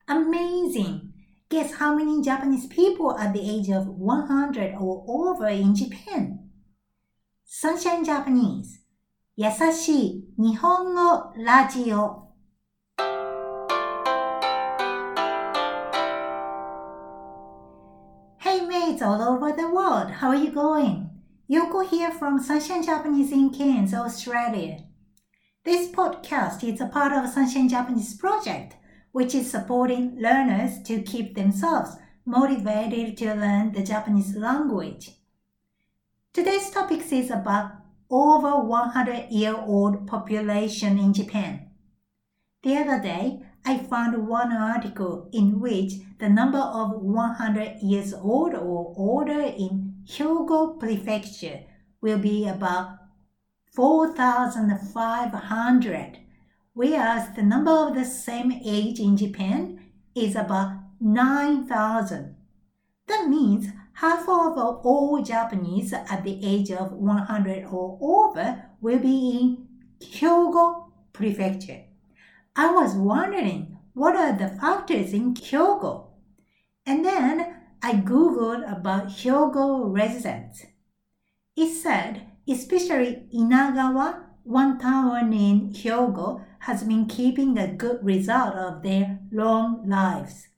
Amazing! Guess how many Japanese people at the age of 100 or over in Japan? Sunshine Japanese 優しい日本語ラジオ。Hey mates all over the world, how are you going? Yoko here from Sunshine Japanese in Cairns, Australia. This podcast is a part of Sunshine Japanese project, which is supporting learners to keep themselves motivated to learn the Japanese language. Today's topic is about over 100-year-old population in Japan. The other day, I found one article in which the number of 100 years old or older in Hyogo Prefecture will be about 4,500, whereas the number of the same age in Japan is about 9,000. That means half of all Japanese at the age of 100 or over will be in Hyogo Prefecture. I was wondering, what are the factors in Hyogo? And then I googled about Hyogo residents. It said, especially Inagawa, one town in Hyogo, has been keeping a good result of their long lives.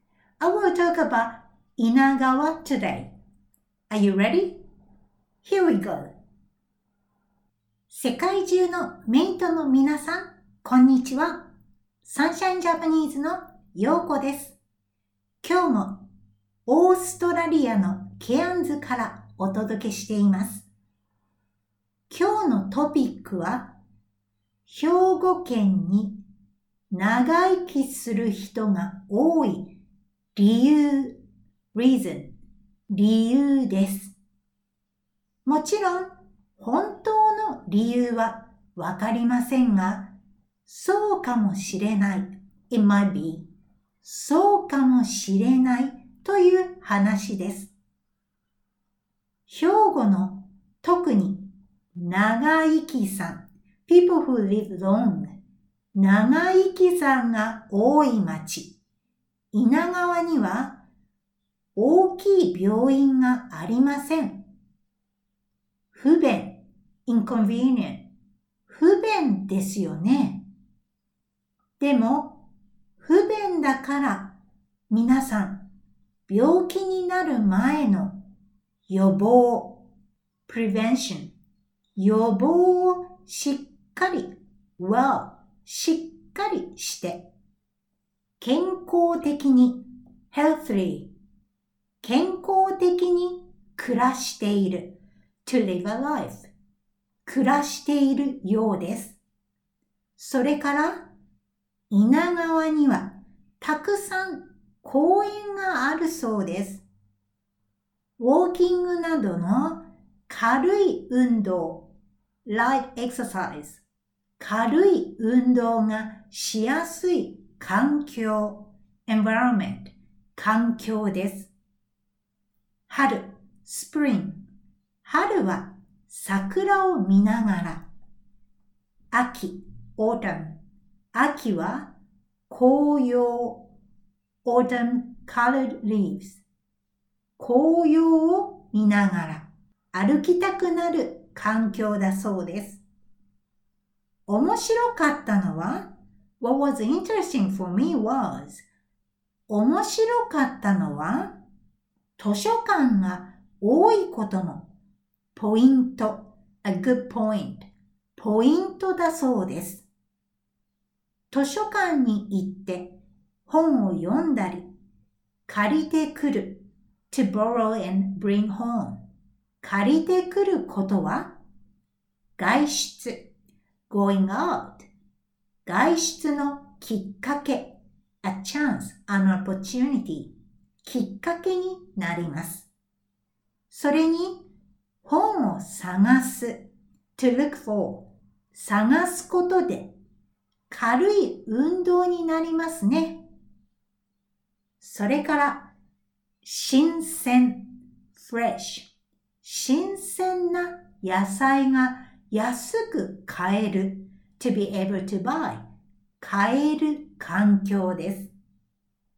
I will talk about Inagawa today. Are you ready? Here we go. 世界中のメイトの皆さん、こんにちは。サンシャインジャパニーズのヨーコです。今日もオーストラリアのケアンズからお届けしています。今日のトピックは、兵庫県に長生きする人が多い理由、reason、理由です。もちろん、本当の理由はわかりませんが、そうかもしれない。It might be. そうかもしれないという話です。兵庫の特に長生きさん、people who live long、長生きさんが多い町、稲川には大きい病院がありません。不便、inconvenient、不便ですよね。でも、不便だから皆さん、病気になる前の予防、prevention、予防をしっかり、しっかりして、健康的に、healthily、健康的に暮らしている、to live a life、暮らしているようです。それから、稲川にはたくさん公園があるそうです。ウォーキングなどの軽い運動、light exercise、軽い運動がしやすい環境、environment、環境です。春、spring、春は桜を見ながら、秋、autumn、秋は紅葉、autumn colored leaves、紅葉を見ながら歩きたくなる環境だそうです。面白かったのは What was interesting for me was 面白かったのは図書館が多いことのポイント a good point ポイントだそうです。図書館に行って本を読んだり借りてくる to borrow and bring home 借りてくることは外出 going out 外出のきっかけ a chance, an opportunity きっかけになります。それに本を探す to look for 探すことで軽い運動になりますね。それから新鮮 fresh 新鮮な野菜が安く買える to be able to buy 買える環境です。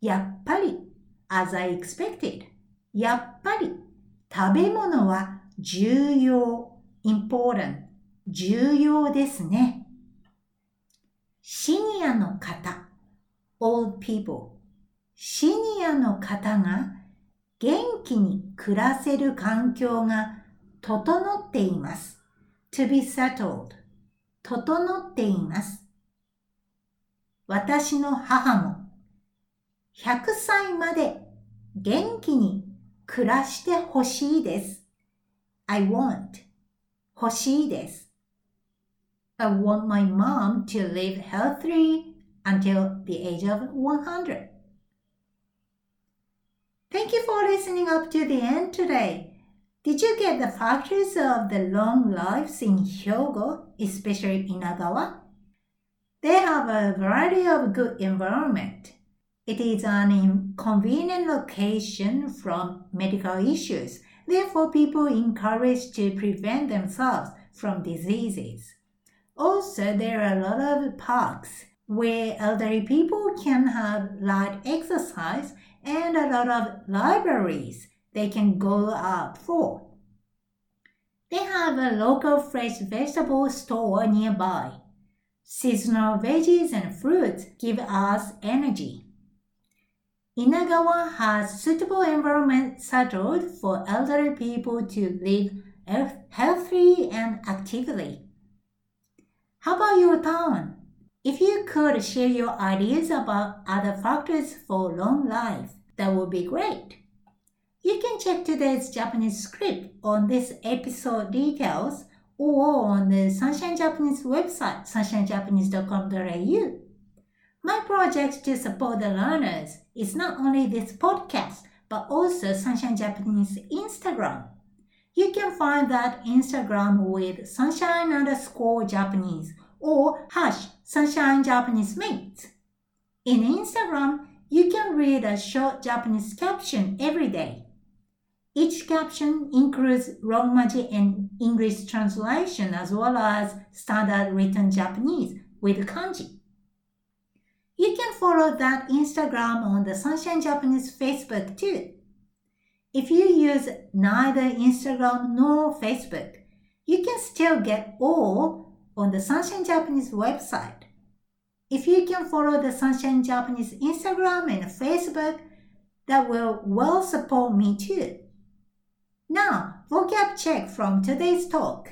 やっぱり as I expected やっぱり食べ物は重要 important 重要ですね。シニアの方 old people シニアの方が元気に暮らせる環境が整っています。to be settled 整っています。私の母も100歳まで元気に暮らしてほしいです。I want 欲しいです。I want my mom to live healthy until the age of 100. Thank you for listening up to the end today. Did you get the factors of the long lives in Hyogo, especially Inagawa? They have a variety of good environment. It is an inconvenient location from medical issues. Therefore, people encouraged to prevent themselves from diseases. Also, there are a lot of parks where elderly people can have light exercise and a lot of libraries they can go out for. They have a local fresh vegetable store nearby. Seasonal veggies and fruits give us energy. Inagawa has suitable environment settled for elderly people to live healthily and actively. How about your town? If you could share your ideas about other factors for long life, that would be great. You can check today's Japanese script on this episode details or on the Sunshine Japanese website, sunshinejapanese.com.au. My project to support the learners is not only this podcast, but also Sunshine Japanese Instagram. You can find that Instagram with sunshine_Japanese or #Sunshine Japanese Mates. In Instagram, you can read a short Japanese caption every day. Each caption includes Romaji and English translation as well as standard written Japanese with kanji. You can follow that Instagram on the Sunshine Japanese Facebook too. If you use neither Instagram nor Facebook, you can still get all on the Sunshine Japanese website. If you can follow the Sunshine Japanese Instagram and Facebook, that will well support me too. Now, vocab check from today's talk.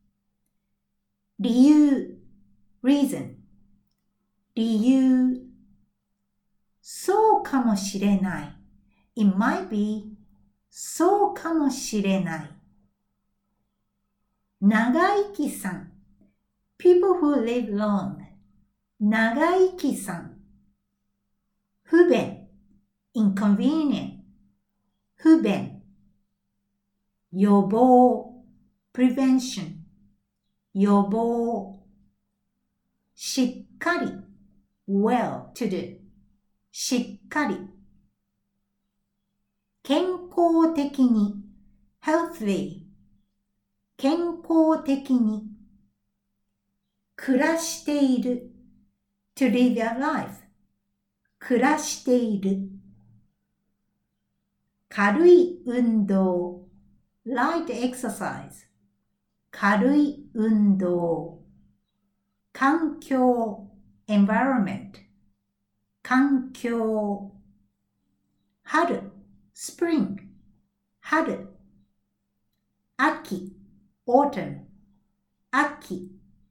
理由 reason 理由そうかもしれない It might be そうかもしれない長生きさん People who live long 長生きさん不便 inconvenient 不便予防 prevention 予防しっかり well to do しっかり健康的に healthy 健康的に暮らしている to live your life 暮らしている軽い運動 light exercise 軽い運動環境 environment 環境春 spring 春秋 autumn 秋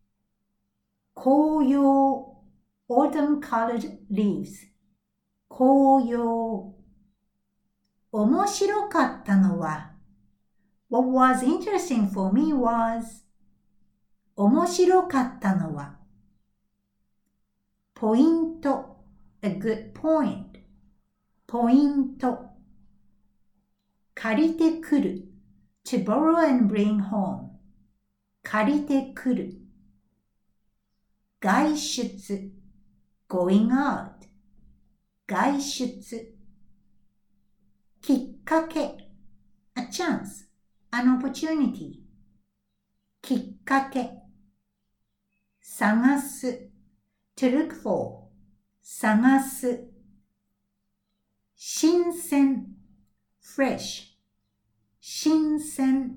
紅葉 autumn colored leaves 紅葉面白かったのは What was interesting for me was 面白かったのはポイント a good point ポイント借りてくる to borrow and bring home 借りてくる外出 going out 外出きっかけ a chance an opportunity きっかけ探す to look for 探す新鮮 fresh 新鮮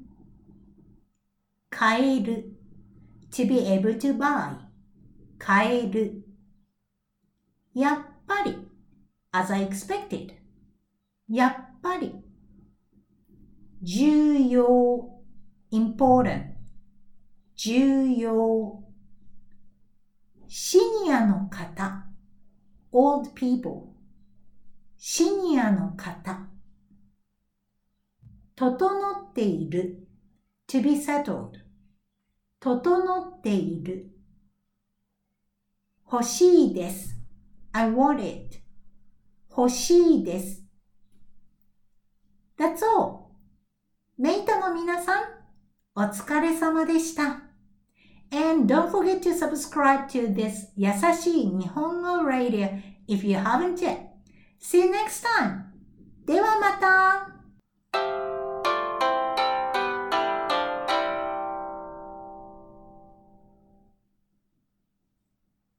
買える to be able to buy 買えるやっぱり as I expected やっぱり重要 important 重要シニアの方 old people シニアの方整っている to be settled 整っている欲しいです I want it 欲しいです That's all メイトの皆さんお疲れ様でした And don't forget to subscribe to this 優しい日本語 Radio if you haven't yet. See you next time. ではまた。